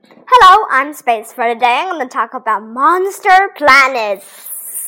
Hello, I'm Space. For today, I'm going to talk about monster planets.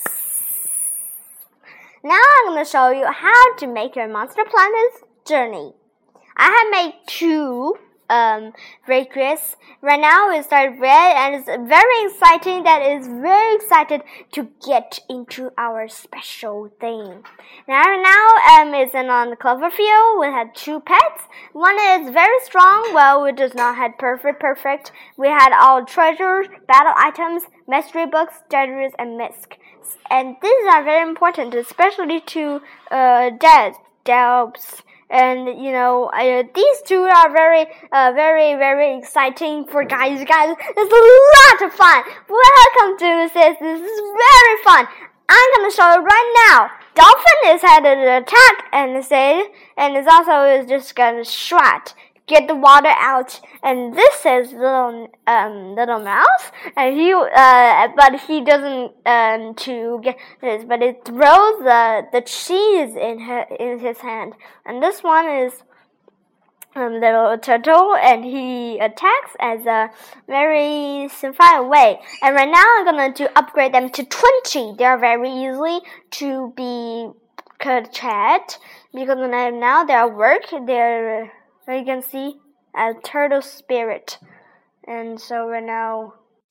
Now I'm going to show you how to make your monster planets journey. I have made two recreates. Right now it started red and it's very exciting that it's very excited to get into our special thing. Now it's on the Cloverfield. We had two pets. One is very strong. Well, we does not have perfect. We had all treasures, battle items, mystery books, diaries, and misc. And these are very important, especially to Delps. And these two are very exciting for guys. It's a lot of fun. Welcome to this. This is very fun. I'm gonna show you right now. Dolphin is headed to attack and it's also just gonna swat. Get the water out, and this is little mouse, and but he doesn't to get this, but it throws the cheese in his hand, and this one is little turtle, and he attacks as a very simple way. And right now I'm gonna upgrade them to 20. They are very easily to be chat because now they work. You can see a turtle spirit, and so right now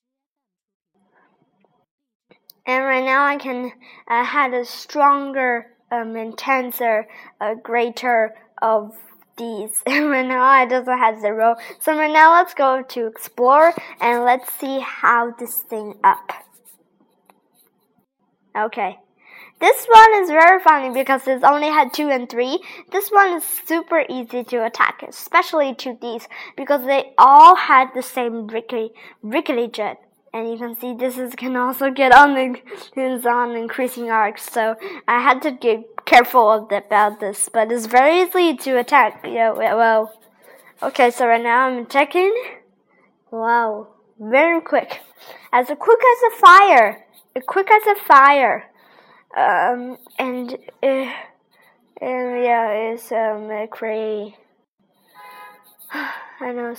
I can have a stronger, intenser, greater of these. And right now it doesn't have 0. So right now let's go to explore and let's see how this thing up. Okay. This one is very funny because it's only had 2 and 3. This one is super easy to attack, especially to these, because they all had the same rickety jet. And you can see can also get on increasing arcs. So I had to get careful about this, but it's very easy to attack. Okay, so right now I'm attacking. Wow, very quick. As quick as a fire. It's crazy. I know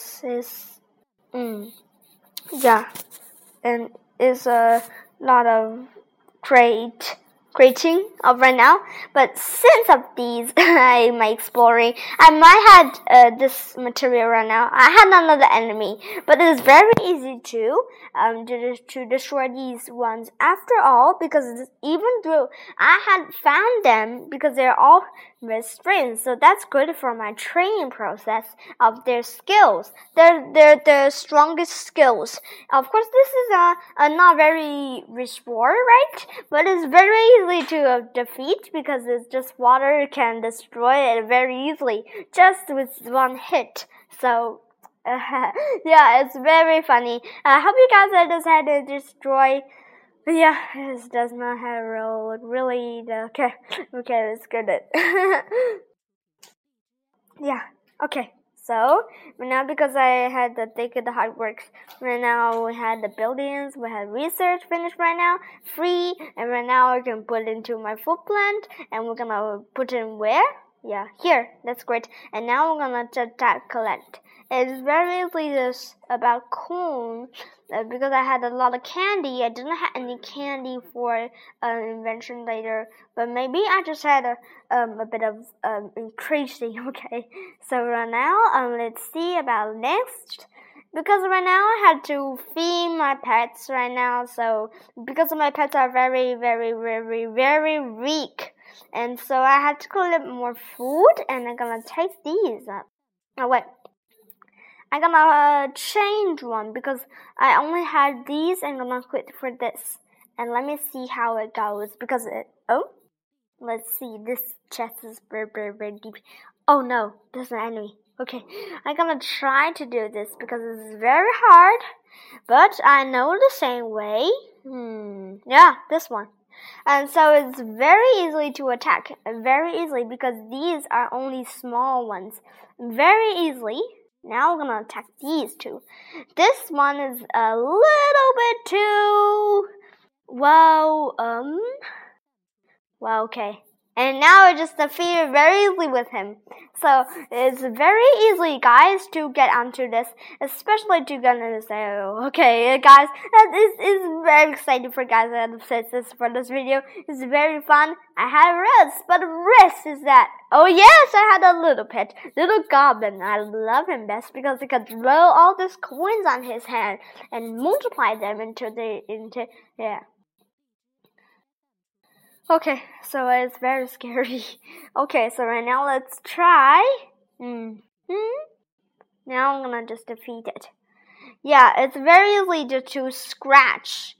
and it's a lot of creating of right now, but since of these I'm exploring, I might have this material right now. I had another enemy, but it is very easy to destroy these ones after all, because even though I had found them because they're all restrained, so that's good for my training process of their skills. They're the strongest skills. Of course, this is a not very reward, right? But it's very easy to defeat because it's just water can destroy it very easily just with one hit. So it's very funny. I hope you guys had to destroy. It does not have a role. Really, okay, let's get it. Okay. So right now, because I had to think of the hard work, right now we had the buildings, we had research finished right now, free, and right now I can put it into my food plant, and we're gonna put it in where? Yeah, here. That's great. And now we're gonna collect. It's very easily just about corn, because I had a lot of candy. I didn't have any candy for invention later, but maybe I just had a bit of increasing. Okay, so right now let's see about next. Because right now I had to feed my pets right now, so because my pets are very weak, and so I had to collect more food, and I'm gonna take these up. Oh wait, I'm gonna change one because I only had these, and I'm gonna quit for this, and let me see how it goes because let's see, this chest is very deep. Oh no, there's an enemy. Okay, I'm gonna try to do this because it's very hard, but I know the same way. This one. And so it's very easy to attack, very easily, because these are only small ones. Very easily. Now we're gonna attack these two. This one is a little bit too, okay. And now I just defeated very easily with him. So it's very easy, guys, to get onto this, especially to get into say, okay, guys, that is very exciting for guys that have said this for this video. It's very fun. I had Riz, but Riz is that. Oh yes, I had a little pet, little goblin. I love him best because he could throw all these coins on his hand and multiply them into yeah. Okay, so it's very scary. Okay, so right now let's try. Now I'm gonna just defeat it. Yeah, it's very easy to scratch.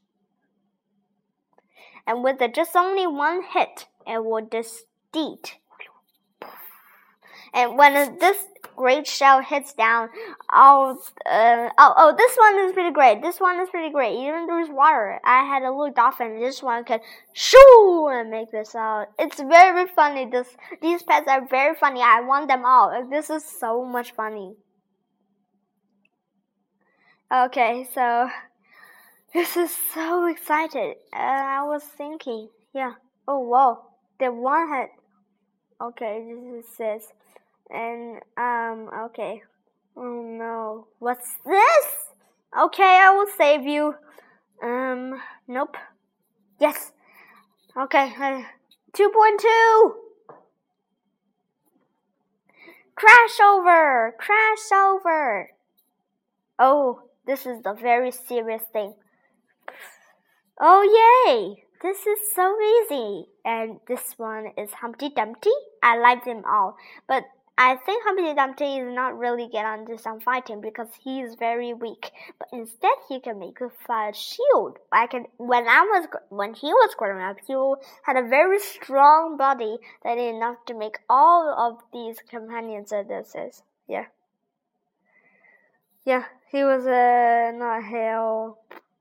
And with just only one hit, it will just eat. And when this great shell hits down, this one is pretty great. This one is pretty great. Even there's water. I had a little dolphin. This one could shoo and make this out. It's very funny. These pets are very funny. I want them all. This is so much funny. Okay, so this is so excited. I was thinking, yeah. Oh wow, the one had. Okay, this is this. And, okay. Oh no. What's this? Okay, I will save you. Nope. Yes. Okay, 2.2. Crash over. Crash over. Oh, this is the very serious thing. Oh, yay. This is so easy. And this one is Humpty Dumpty. I like them all. But I think Humpty Dumpty is not really get onto some fighting because he is very weak. But instead, he can make a fire shield. When he was growing up, he had a very strong body that is enough to make all of these companions of this. Yeah. Yeah, he was not hell.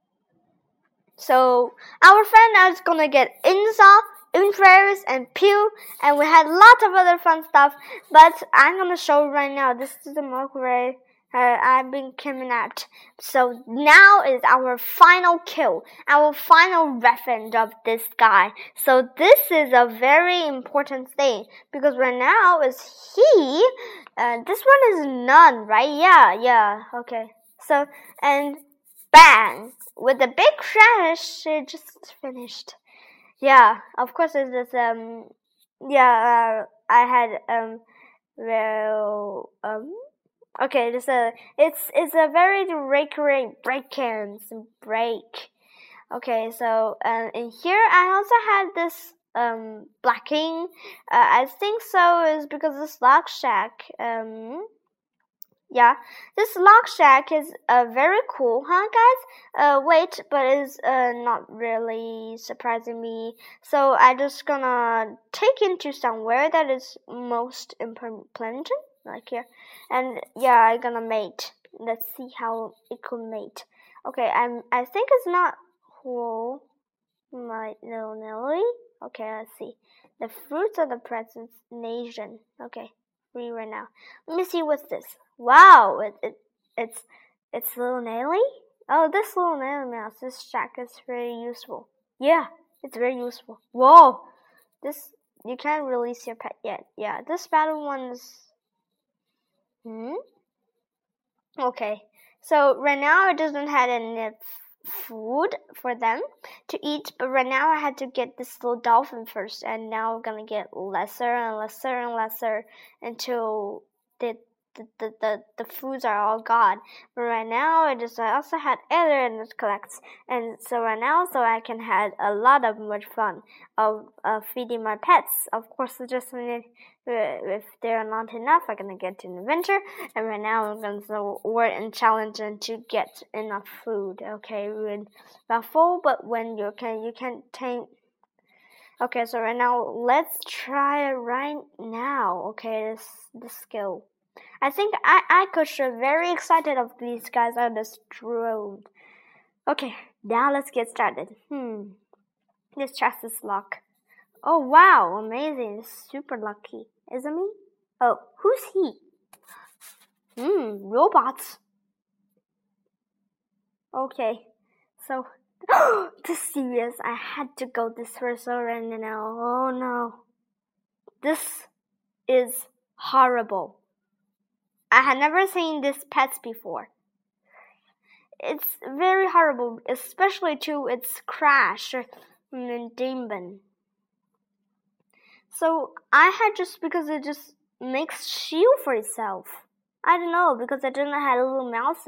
So our friend is gonna get Insoft, Intraris, and Pew, and we had lots of other fun stuff. But I'm gonna show you right now. This is the Mercury. I've been kidnapped. So now is our final kill, our final revenge of this guy. So this is a very important thing because right now is he. This one is none, right? Yeah. Okay. So and bang. With a big crash, it just finished. Yeah, of course it is, I had, okay, it's a very recurring break. Okay, so, in here I also had this, blacking. I think so is because this Lock Shack, yeah, this Lock Shack is very cool, huh, guys? Wait, but it's not really surprising me. So I just gonna take into somewhere that is most important, like here, and yeah, I gonna mate. Let's see how it could mate. Okay, I think it's not whole, my little Nelly. Okay, let's see. The fruits of the present nation. Okay, free right now. Let me see what's this. Wow, it's little Nelly. Oh, this little Nelly mouse. This shack is very useful. Yeah, it's very useful. Whoa, this you can't release your pet yet. Yeah, this battle one's. Okay, so right now it doesn't have enough food for them to eat, but right now I had to get this little dolphin first, and now I'm gonna get lesser and lesser and lesser until the foods are all gone. But right now I also had other collects, and so right now I can have a lot of much fun of feeding my pets. Of course, just if there are not enough, I'm gonna get to an adventure, and right now I'm gonna work and challenge them to get enough food. Okay, we're not full, but when you can't take. Okay, so right now let's try it right now. Okay, this skill. I think I could show very excited of these guys on this drone. Okay, now let's get started. This chest is locked. Oh wow, amazing. Super lucky. Is it me? Oh, who's he? Robots. Okay, so this serious. I had to go this first already now. Oh no. This is horrible. I had never seen these pets before. It's very horrible, especially to its crash demon. So I had just because it just makes shield for itself. I don't know because I didn't have a little mouse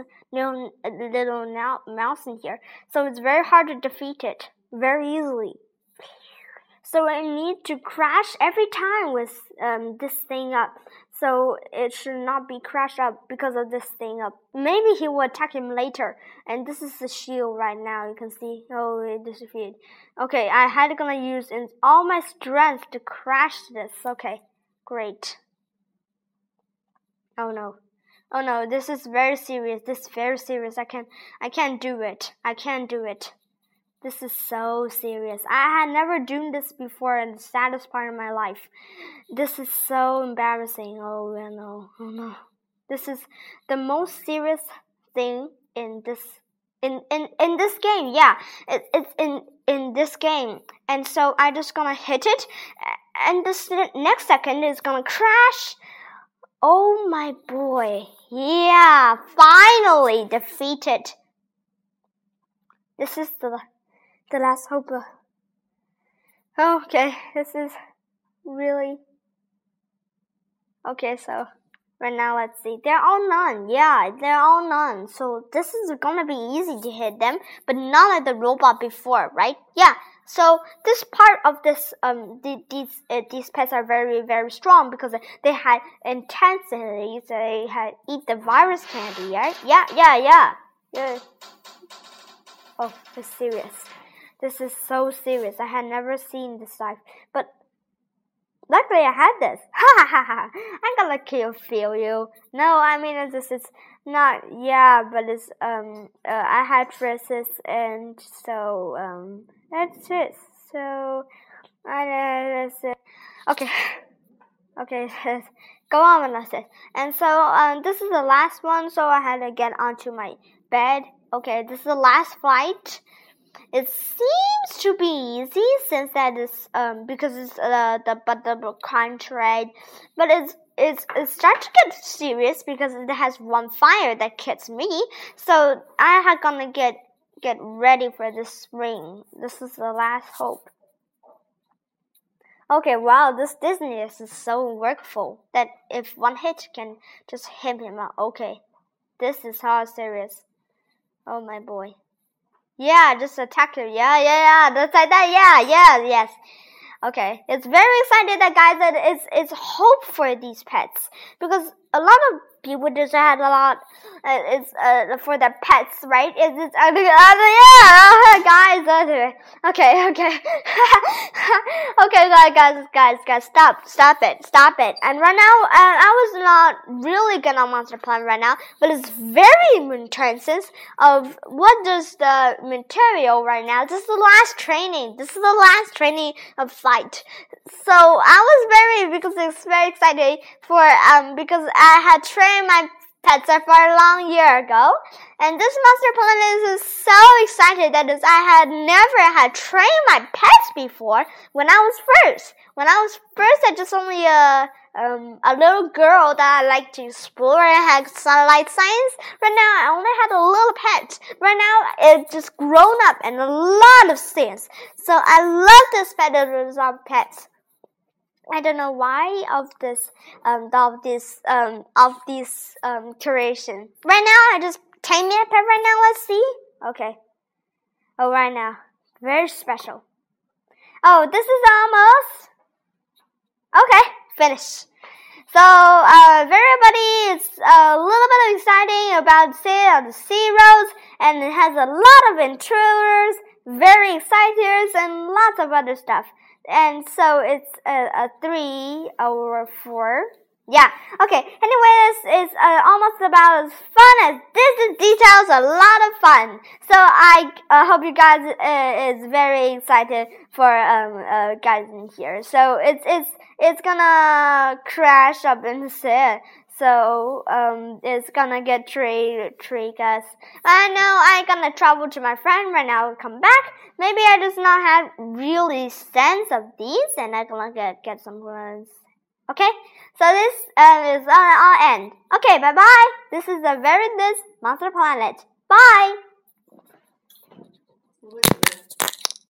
in here, so it's very hard to defeat it very easily. So I need to crash every time with this thing up. So it should not be crashed up because of this thing up. Maybe he will attack him later. And this is the shield right now. You can see. Oh, it disappeared. Okay, I had gonna use all my strength to crash this. Okay, great. Oh no. Oh no, this is very serious. This is very serious. I can't do it. I can't do it. This is so serious. I had never done this before in the saddest part of my life. This is so embarrassing. Oh no, oh no. This is the most serious thing in this this game. Yeah, it's in this game. And so I just gonna hit it, and this next second is gonna crash. Oh my boy. Yeah, finally defeated. This is the last hope. Okay, this is really okay. So right now, let's see. They're all none. Yeah, they're all none. So this is gonna be easy to hit them, but not like the robot before, right? Yeah. So this part of this these pets are very, very strong because they had intensity. So they had eat the virus candy, right? Yeah. Oh, it's serious. This is so serious. I had never seen this life. But luckily I had this. Ha ha ha. I'm gonna feel you. No, I mean this is not but it's I had traces and so that's it. So okay. Okay, go on with it. And so this is the last one, so I had to get onto my bed. Okay, this is the last flight. It seems to be easy since that is because it's the contract, but it's starting to get serious because it has one fire that hits me. So I had gonna get ready for this ring. This is the last hope. Okay, wow, this Disney is so workful that if one hit can just hit him out. Okay, this is how serious. Oh my boy. Yeah, just attack him. Yeah. That's like that. Yes. Okay, it's very excited that guys that it's hope for these pets because a lot of people just had a lot. It's for their pets, right? It's guys. Okay. Okay, guys, stop it. And right now, I was not really good on Monster Plan right now, but it's very intense of what does the material right now. This is the last training. This is the last training of flight. So I was very excited for because I had trained my pets for a long year ago, and this Monster Plan is so excited that I had never had trained my pets before. When I was first, I just only a little girl that I like to explore and had satellite science. Right now, I only had a little pet. Right now, it's just grown up and a lot of things. So I love this pet of pets. I don't know why of this curation. Right now, I just tame me a pet right now. Let's see. Okay. Oh, right now, very special. Oh, this is almost okay. Finish. So, everybody is a little bit exciting about the sea roads, and it has a lot of intruders, very excited, and lots of other stuff. And so it's a 3 over 4. Yeah. Okay. Anyway, it's almost about as fun as Disney details. A lot of fun. So I hope you guys is very excited for guys in here. So it's gonna crash up in the sea. So it's gonna get trick us. I know I'm gonna travel to my friend right now. Come back. Maybe I does not have really sense of these, and I'm gonna get some ones. Okay. So this is our end. Okay. Bye bye. This is the Very This Monster Planet. Bye.